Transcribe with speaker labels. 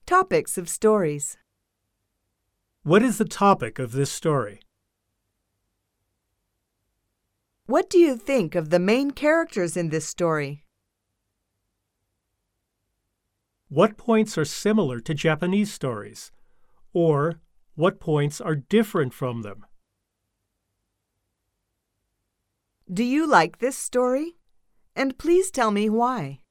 Speaker 1: Topics of stories.
Speaker 2: What is the topic of this story?
Speaker 1: What do you think of the main characters in this story?
Speaker 2: What points are similar to Japanese stories? Or what points are different from them?
Speaker 1: Do you like this story? And please tell me why.